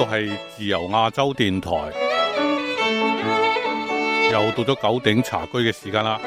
度係自由亞洲電台，又到咗9鼎茶居嘅時間啦。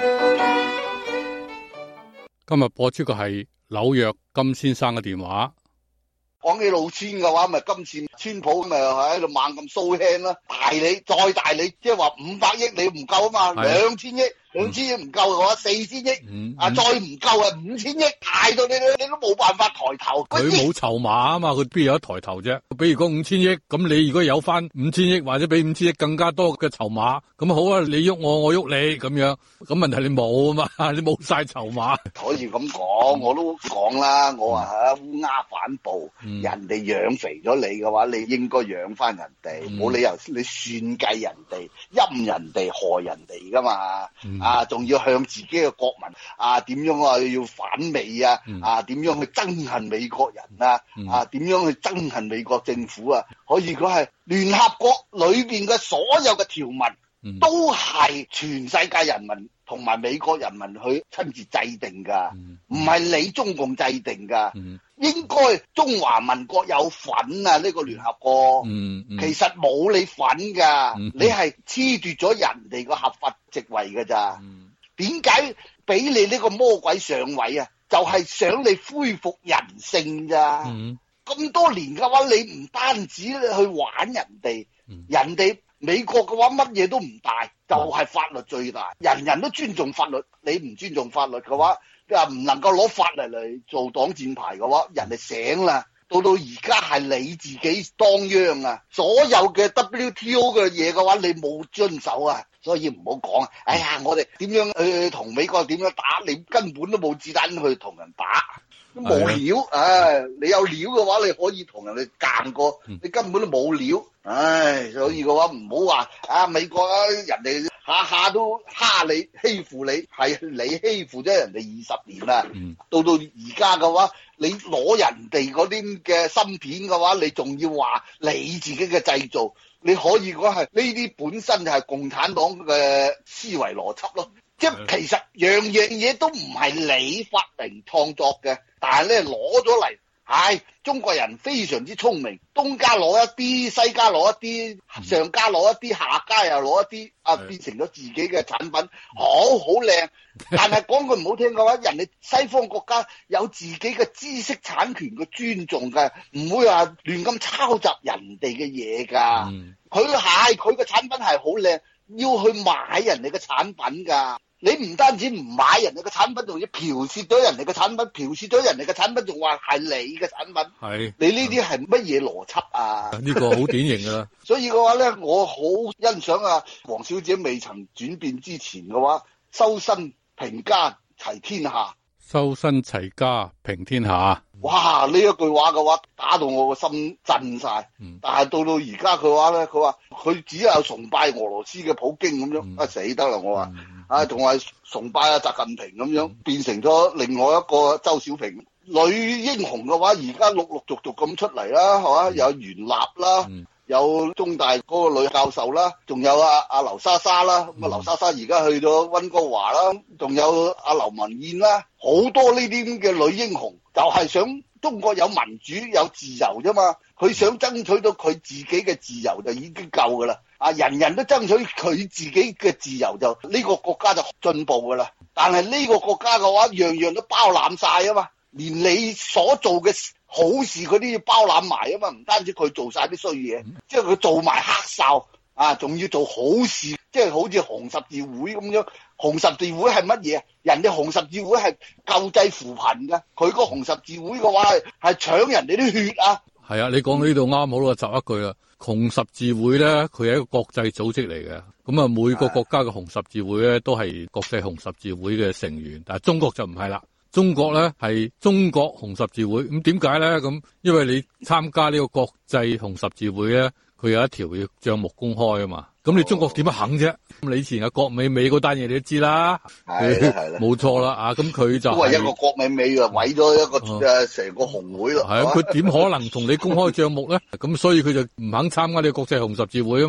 今日播出嘅係紐約金先生嘅電話。 講起老千嘅話，咪今次川普咪喺度猛咁show hand啦，大你再大你，即係話500億你唔夠啊嘛，2000億。2000億唔夠嘅話，4000億，再唔夠啊5000億，大到你都冇辦法抬頭。 佢冇籌碼啊嘛，佢邊有得抬頭啫？比如講5000億，咁你如果有翻5000億或者比5000億更加多嘅籌碼，咁好啊，你喐我喐你咁樣，咁問題你冇啊嘛，你冇晒籌碼。 可以咁講，我都講啦，我話烏鴉反哺，人哋養肥咗你嘅話，你應該養翻人哋，冇理由你算計人哋、陰人哋、害人哋噶嘛。仲要向自己嘅國民點樣要反美點樣去憎恨美國人點樣去憎恨美國政府可以講係聯合國裏邊嘅所有嘅條文都係全世界人民同埋美國人民去親自制定噶，唔係你中共制定噶。應該中華民國有份呢個聯合國，其實冇你份噶，你係褫奪咗人哋個合法席位噶咋？點解俾你呢個魔鬼上位啊？就係想你恢復人性咋？咁多年嘅話，你唔單止去玩人哋，人哋美國嘅話乜嘢都唔大，就係法律最大，人人都尊重法律，你唔尊重法律嘅話，唔能夠攞法律嚟做擋箭牌嘅話，人哋醒啦。到而家係你自己當央啊！所有嘅 WTO 嘅嘢嘅話，你冇遵守啊，所以唔好講。哎呀，我哋點樣去同美國點樣打？你根本都冇子彈去同人打，都冇料。你有料嘅話，你可以同人哋幹過，你根本都冇料。所以嘅話唔好話美國人哋下下都蝦你欺負你，係你欺負咗人哋20年啦。到而家嘅話，你攞人哋嗰啲嘅芯片嘅話，你仲要話你自己嘅製造，你可以講係呢啲本身就係共產黨嘅思維邏輯咯。即係其實樣樣嘢都唔係你發明創作嘅，但係咧攞咗嚟。中國人非常之聰明，東家攞一啲，西家攞一啲，上家攞一啲，下家又攞一啲，變成咗自己嘅產品，好靚。但係講句唔好聽嘅話，人哋西方國家有自己嘅知識產權嘅尊重嘅，唔會話亂咁抄襲人哋嘅嘢噶。佢嘅產品係好靚，要去買人哋嘅產品噶。你唔單止唔買人哋嘅產品，仲要剽竊咗人哋嘅產品，剽竊咗人哋嘅產品，仲話係你嘅產品。係你呢啲係乜嘢邏輯啊？呢個好典型噶啦。所以嘅話咧，我好欣賞黃小姐未曾轉變之前嘅話，修身平家齊天下。 修身齊家平天下。 哇！呢一句話嘅話打到我個心震晒。但係到而家佢話咧，佢話佢只有崇拜俄羅斯嘅普京咁樣，死得啦！我話同埋崇拜習近平咁樣，變成咗另外一個周小平女英雄嘅話，而家陸陸續續咁出嚟啦，係嘛？有袁立啦。有中大嗰個女教授啦，仲有阿劉莎莎啦，咁劉莎莎而家去咗溫哥華啦，仲有阿劉文燕啦，好多呢啲咁嘅女英雄，就係想中國有民主有自由啫嘛，佢想爭取到佢自己嘅自由就已經夠噶啦，人人都爭取佢自己嘅自由就呢個國家就進步噶啦，但係呢個國家嘅話樣樣都包攬晒啊嘛，連你所做嘅好事佢都要包攬埋啊嘛，唔單止佢做晒啲衰嘢，即係佢做埋黑哨仲要做好事，即係好似紅十字會咁樣。紅十字會係乜嘢？人哋紅十字會係救濟扶貧噶，佢個紅十字會嘅話係搶人哋啲血啊！係啊，你講到呢度啱好啦，插一句啦。紅十字會咧，佢係一個國際組織嚟嘅，咁啊每個國家嘅紅十字會咧都係國際紅十字會嘅成員，但係中國就唔係啦。中國咧係中國紅十字會，咁點解咧？咁因為你參加呢個國際紅十字會咧，佢有一條要賬目公開啊嘛。咁你中國點樣肯啫？咁你以前國美美嗰單嘢你都知啦，係啦，冇錯啦咁佢就都係一個國美美毀咗一個成個紅會咯。係佢點可能同你公開賬目咧？咁所以佢就唔肯參加呢個國際紅十字會啊嘛。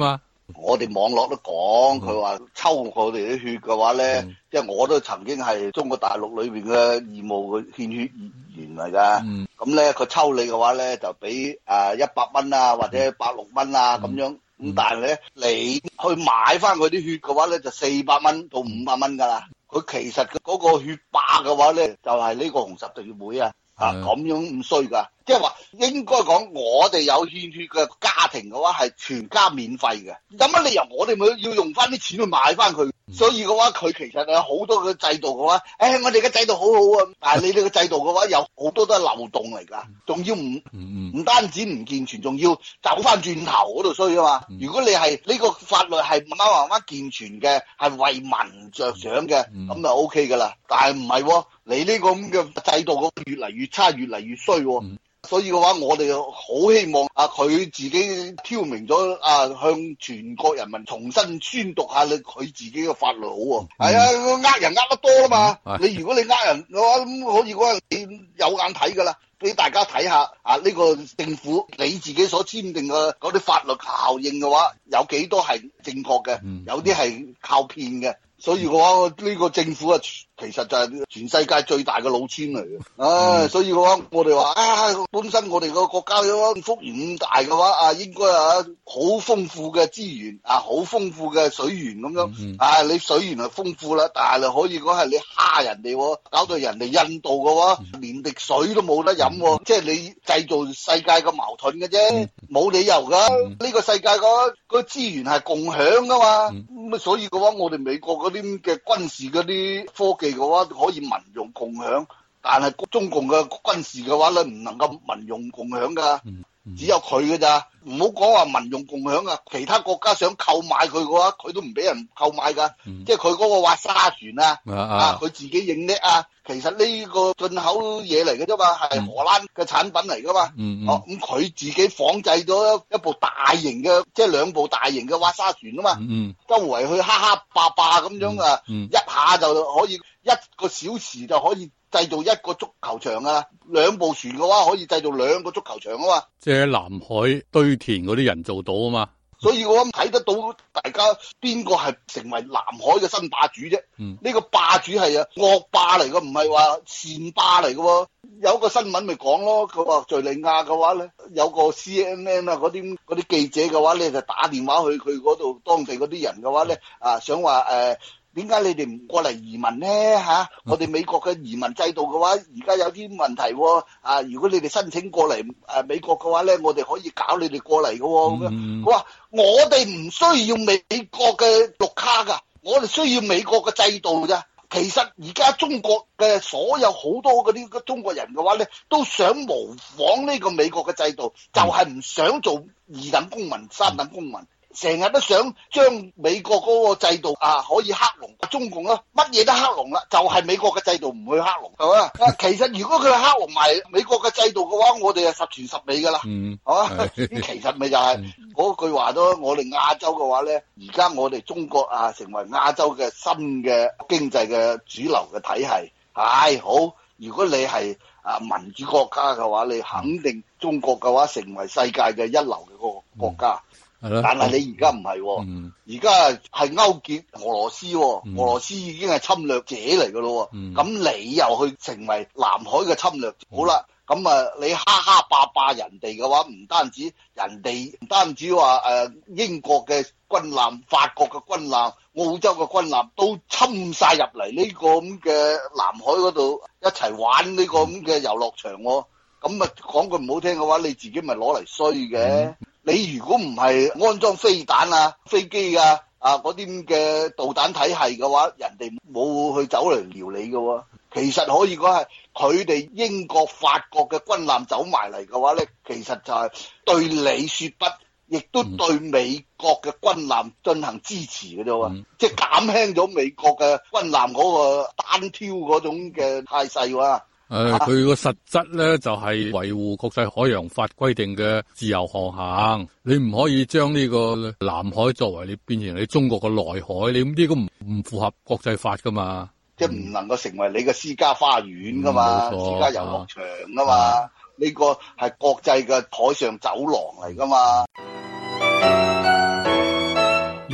我哋網絡都講，佢話抽我哋啲血嘅話咧，即係我都曾經係中國大陸裏邊嘅義務嘅獻血員嚟噶。咁咧佢抽你嘅話咧，就俾100蚊啊，或者160蚊啊咁樣。咁但係咧，你去買翻佢啲血嘅話咧，就400蚊到500蚊噶啦。佢其實嗰個血霸嘅話咧，就係呢個紅十字會啊。咁樣咁衰噶，即係話應該講，我哋有獻血嘅家庭嘅話係全家免費嘅，有乜理由我哋咪要用翻啲錢去買翻佢？所以嘅話，佢其實有好多嘅制度嘅話，我哋嘅制度好好啊，但係你哋嘅制度嘅話有好多都係漏洞嚟噶，仲要唔單止唔健全，仲要走翻轉頭嗰度衰啊嘛。如果你係呢個法律係慢慢健全嘅，係為民着想嘅，咁就 OK 噶啦。但係唔係喎，你呢個咁嘅制度越嚟越差，越嚟越衰喎。所以嘅話，我哋好希望佢自己挑明咗向全國人民重新宣讀下佢自己嘅法律好喎。係啊，呃人呃得多啦嘛。你如果你呃人嘅話，咁可以嗰陣你有眼睇㗎啦，俾大家睇下呢個政府你自己所簽訂嘅嗰啲法律效應嘅話，有幾多係正確嘅，有啲係靠騙嘅。所以嘅話，呢個政府啊，其實就係全世界最大嘅老千嚟嘅。所以嘅話，我哋話本身我哋個國家嘅幅員咁大嘅話，應該好豐富嘅資源好豐富嘅水源咁樣。你水源係豐富啦，但係可以講係你蝦人哋，搞到人哋印度嘅話，連滴水都冇得飲，即係你製造世界嘅矛盾嘅啫，冇理由噶。呢個世界個資源係共享噶嘛。咁所以嘅話，我哋美國嗰啲嘅軍事嗰啲科技嘅話可以民用共享，但係中共嘅軍事嘅話咧唔能夠民用共享噶，只有佢嘅咋。唔好講話民用共享啊，其他國家想購買佢嘅話，佢都唔俾人購買噶。即係佢嗰個挖沙船佢自己認叻其實呢個進口嘢嚟嘅啫嘛，係荷蘭嘅產品嚟噶嘛。咁佢自己仿製咗一部大型嘅，即係2部大型嘅挖沙船啊嘛。周圍去霸咁樣一下就可以1個小時就可以製造1個足球場2部船嘅話可以製造2個足球場啊嘛。 即係南海堆填嗰啲人做到啊嘛。 所以我睇得到大家邊個係成為南海嘅新霸主啫。呢個霸主係惡霸嚟嘅，唔係話善霸嚟嘅。有個新聞咪講咯，佢話敘利亞嘅話咧，有個 CNN 嗰啲記者嘅話咧，就打電話去佢嗰度當地嗰啲人嘅話咧，想話點解你哋唔過嚟移民咧我哋美國嘅移民制度嘅話，而家有啲問題如果你哋申請過嚟美國嘅話咧，我哋可以搞你哋過嚟嘅咁樣。佢話我哋唔需要美國嘅綠卡噶，我哋需要美國嘅制度咋。其實而家中國嘅所有好多嗰啲中國人嘅話咧，都想模仿呢個美國嘅制度，就係唔想做2等公民、3等公民。成日都想將美國嗰個制度可以克隆中共乜嘢都克隆啦，就係美國嘅制度唔去克隆，係嘛？其實如果佢克隆埋美國嘅制度嘅話，我哋係十全十美噶啦，係嘛？其實咪就係嗰句話咯。我哋亞洲嘅話咧，而家我哋中國成為亞洲嘅新嘅經濟嘅主流嘅體系，係好。如果你係民主國家嘅話，你肯定中國嘅話成為世界嘅一流嘅個國家。但係你而家唔係，而家係勾結俄羅斯，俄羅斯已經係侵略者嚟噶咯。咁你又去成為南海嘅侵略者，好啦，咁你霸人哋嘅話，唔單止話英國嘅軍艦、法國嘅軍艦、澳洲嘅軍艦都侵晒入嚟呢個咁嘅南海嗰度一齊玩呢個咁嘅遊樂場。咁講句唔好聽嘅話，你自己咪攞嚟衰嘅。你如果唔係安裝飛彈飛機嗰啲咁嘅導彈體系嘅話，人哋冇去走嚟撩你嘅。其實可以講係佢哋英國、法國嘅軍艦走埋嚟嘅話咧，其實就係對你說不，亦都對美國嘅軍艦進行支持嘅啫。即係減輕咗美國嘅軍艦嗰個單挑嗰種嘅態勢。 佢個實質咧就係維護國際海洋法規定嘅自由航行，你唔可以將呢個南海作為你變成你中國嘅內海，你咁呢個唔符合國際法噶嘛， 即係唔能夠成為你嘅私家花園噶嘛，私家遊樂場噶嘛，呢個係國際嘅海上走廊嚟噶嘛。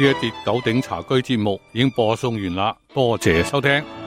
一節九鼎茶居節目已經播送完啦，多謝收聽。